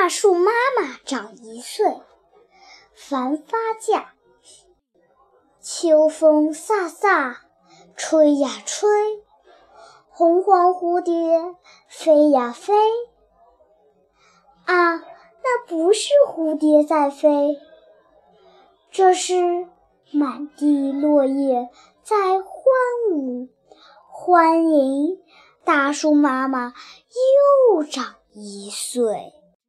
大树妈妈长1岁，繁发架。秋风飒飒，吹呀吹，红黄蝴蝶飞呀飞。啊，那不是蝴蝶在飞，这是满地落叶在欢舞，欢迎大树妈妈又长1岁。